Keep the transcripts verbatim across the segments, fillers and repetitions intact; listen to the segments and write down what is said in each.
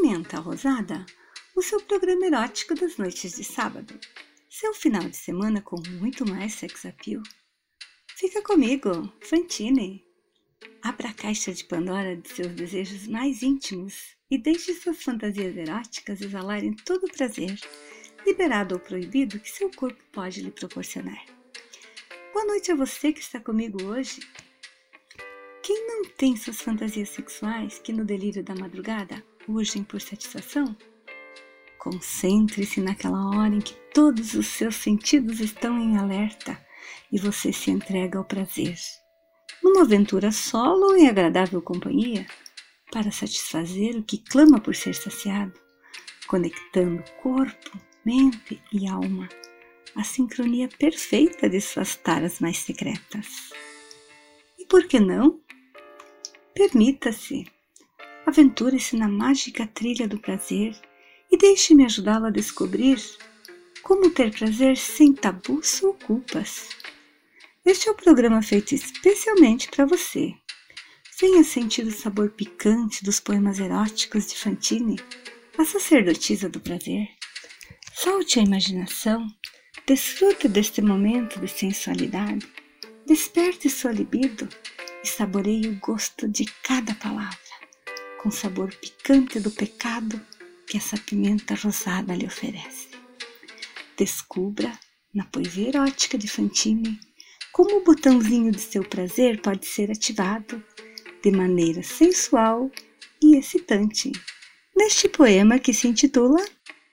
Pimenta Rosada, o seu programa erótico das noites de sábado. Seu final de semana com muito mais sex appeal. Fica comigo, Fantine. Abra a caixa de Pandora de seus desejos mais íntimos e deixe suas fantasias eróticas exalarem todo o prazer, liberado ou proibido, que seu corpo pode lhe proporcionar. Boa noite a você que está comigo hoje. Quem não tem suas fantasias sexuais que no delírio da madrugada urgem por satisfação? Concentre-se naquela hora em que todos os seus sentidos estão em alerta e você se entrega ao prazer, numa aventura solo ou em agradável companhia, para satisfazer o que clama por ser saciado, conectando corpo, mente e alma, a sincronia perfeita de suas taras mais secretas. E por que não? Permita-se, aventure-se na mágica trilha do prazer e deixe-me ajudá-lo a descobrir como ter prazer sem tabus ou culpas. Este é o programa feito especialmente para você. Venha sentir o sabor picante dos poemas eróticos de Fantine, a sacerdotisa do prazer. Solte a imaginação, desfrute deste momento de sensualidade, desperte sua libido e saboreie o gosto de cada palavra, com o sabor picante do pecado que essa pimenta rosada lhe oferece. Descubra, na poesia erótica de Fantine, como o botãozinho de seu prazer pode ser ativado de maneira sensual e excitante, neste poema que se intitula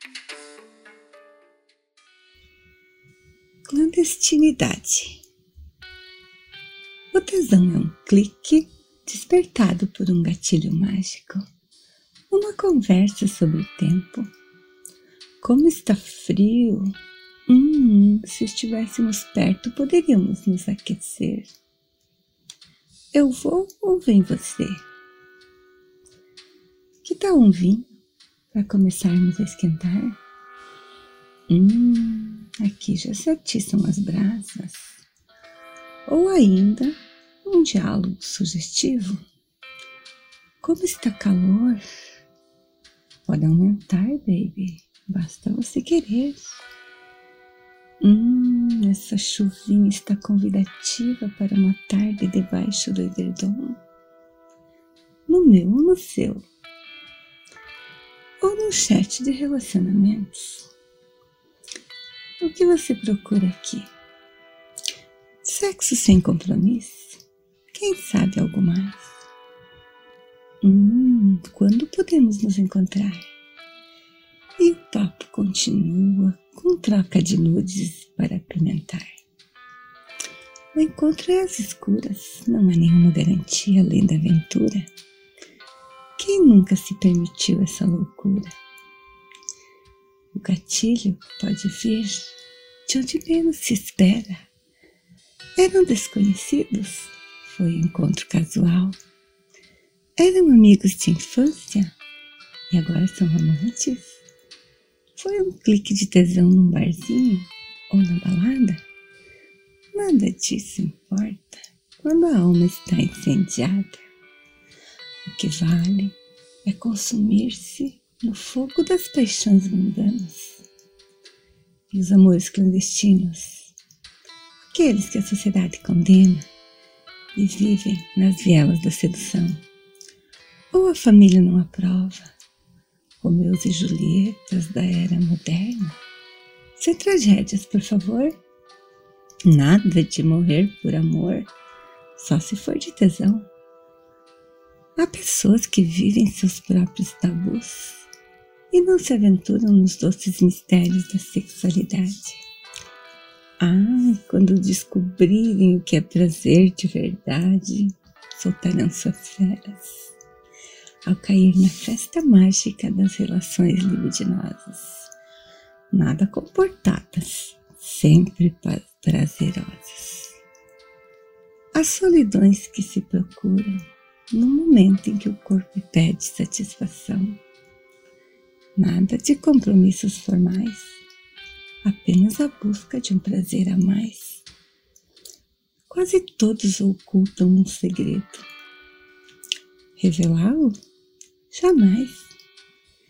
Clandestinidade. O tesão é um clique despertado por um gatilho mágico, uma conversa sobre o tempo. Como está frio! Hum, se estivéssemos perto, poderíamos nos aquecer. Eu vou ou vem você? Que tal um vinho para começarmos a esquentar? Hum, aqui já se atiçam as brasas. Ou ainda um diálogo sugestivo. Como está calor? Pode aumentar, baby. Basta você querer. Hum, essa chuvinha está convidativa para uma tarde debaixo do edredom. No meu ou no seu? Ou no chat de relacionamentos? O que você procura aqui? Sexo sem compromisso? Quem sabe algo mais? Hum, quando podemos nos encontrar? E o papo continua com troca de nudes para apimentar. O encontro é às escuras, não há nenhuma garantia além da aventura. Quem nunca se permitiu essa loucura? O gatilho pode vir de onde menos se espera. Eram desconhecidos? Foi um encontro casual. Eram amigos de infância? E agora são amantes? Foi um clique de tesão num barzinho ou na balada? Nada disso importa quando a alma está incendiada. O que vale é consumir-se no fogo das paixões mundanas. E os amores clandestinos, aqueles que a sociedade condena e vivem nas vielas da sedução. Ou a família não aprova, Romeus e Julietas da era moderna. Sem tragédias, por favor. Nada de morrer por amor, só se for de tesão. Há pessoas que vivem seus próprios tabus e não se aventuram nos doces mistérios da sexualidade. Ah, quando descobrirem o que é prazer de verdade, soltarão suas feras ao cair na festa mágica das relações libidinosas, nada comportadas, sempre prazerosas. As solidões que se procuram no momento em que o corpo pede satisfação. Nada de compromissos formais, apenas a busca de um prazer a mais. Quase todos ocultam um segredo. Revelá-lo? Jamais.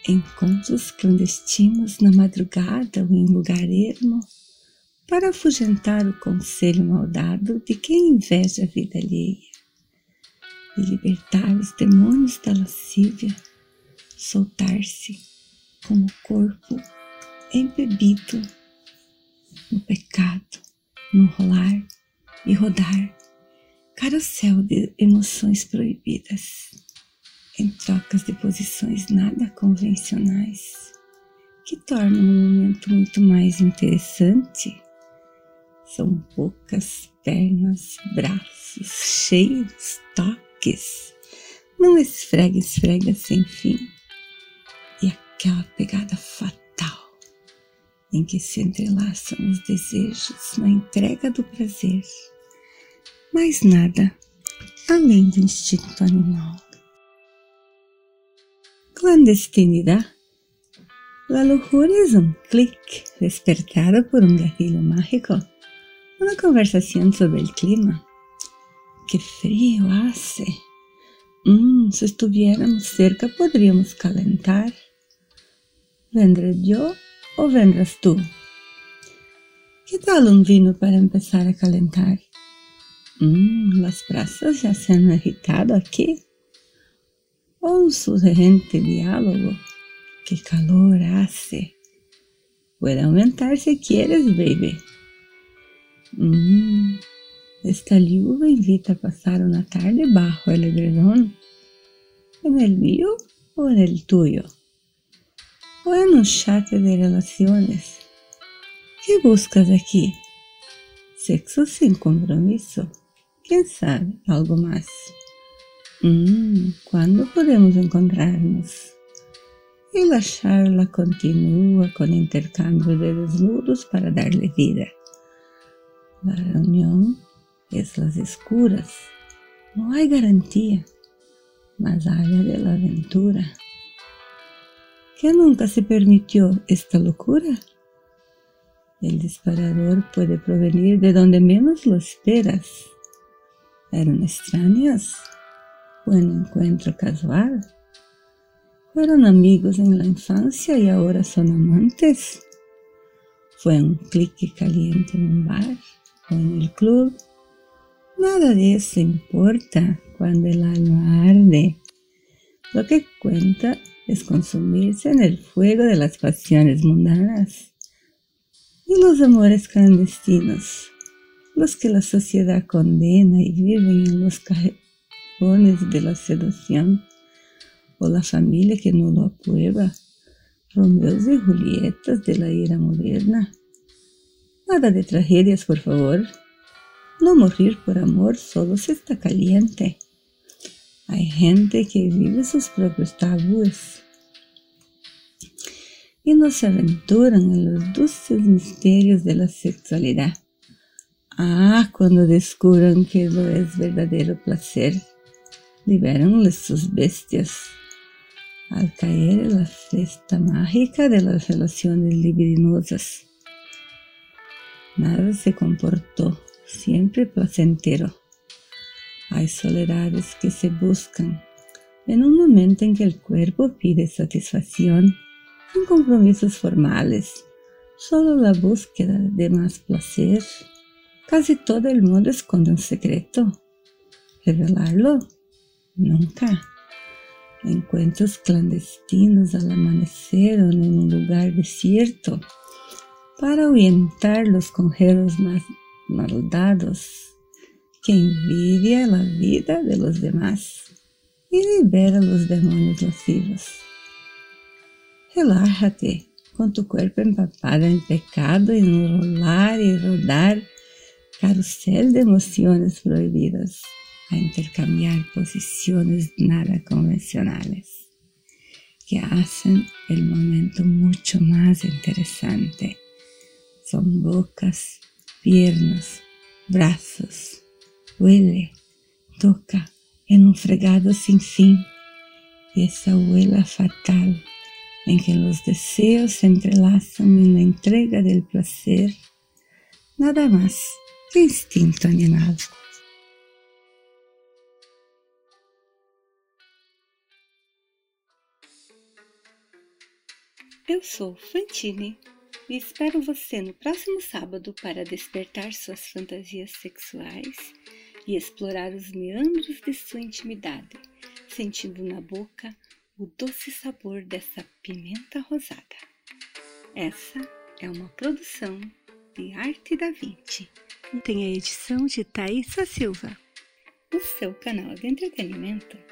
encontros clandestinos na madrugada ou em lugar ermo, para afugentar o conselho maldado de quem inveja a vida alheia, e libertar os demônios da lascívia, soltar-se como o corpo embebido no pecado, no rolar e rodar, carrossel de emoções proibidas, em trocas de posições nada convencionais, que tornam o momento muito mais interessante. São bocas, pernas, braços, cheiros, toques, não esfrega, esfrega sem fim, e aquela pegada fatal em que se entrelaçam os desejos na entrega do prazer, mais nada além do instinto animal. Clandestinidad. La lujuria es un clic despertado por un gatillo mágico, una conversación sobre el clima. ¡Qué frío hace! Mm, si estuviéramos cerca podríamos calentar. ¿Vendré yo o vendrás tú? ¿Qué tal un vino para empezar a calentar? Mm, las brasas ya se han agitado aquí. O un sugerente diálogo. ¡Qué calor hace! Puede aumentar si quieres, baby. Mm, esta lluvia invita a pasar una tarde bajo el edredón. ¿En el mío o en el tuyo? ¿O en un chat de relaciones? ¿Qué buscas aquí? Sexo sin compromiso. ¿Quién sabe? Algo más. Mm, ¿cuándo podemos encontrarnos? Y la charla continúa con intercambio de desnudos para darle vida. La reunión es las escuras. No hay garantía, más allá de la aventura. ¿Qué nunca se permitió esta locura? El disparador puede provenir de donde menos lo esperas. ¿Eran extraños? ¿O un encuentro casual? ¿Fueron amigos en la infancia y ahora son amantes? ¿Fue un clique caliente en un bar o en el club? Nada de eso importa cuando el alma arde. Lo que cuenta es consumirse en el fuego de las pasiones mundanas. Y los amores clandestinos, los que la sociedad condena y viven en los cajones de la seducción, o la familia que no lo aprueba, Romeos y Julietas de la era moderna. Nada de tragedias, por favor. No morir por amor solo se está caliente. Hay gente que vive sus propios tabúes y no se aventuran en los dulces misterios de la sexualidad. Ah, cuando descubran que lo es verdadero placer, libéranles sus bestias. Al caer en la fiesta mágica de las relaciones libidinosas. Nada se comportó siempre placentero. Hay soledades que se buscan en un momento en que el cuerpo pide satisfacción, sin compromisos formales, solo la búsqueda de más placer. Casi todo el mundo esconde un secreto. ¿Revelarlo? Nunca. Encuentros clandestinos al amanecer o en un lugar desierto para ahuyentar los conjeros más maldados que envidia la vida de los demás y libera los demonios lascivos. Relájate con tu cuerpo empapado en pecado y enrolar y rodar carrusel de emociones prohibidas, a intercambiar posiciones nada convencionales que hacen el momento mucho más interesante. Son bocas, piernas, brazos, huele, toca en un fregado sin fin, y esa huela fatal en que los deseos se entrelazan en la entrega del placer, nada más que instinto animal. Eu sou Fantine e espero você no próximo sábado para despertar suas fantasias sexuais e explorar os meandros de sua intimidade, sentindo na boca o doce sabor dessa pimenta rosada. Essa é uma produção de Arte da Vinci. Tem a edição de Thaisa Silva. O seu canal de entretenimento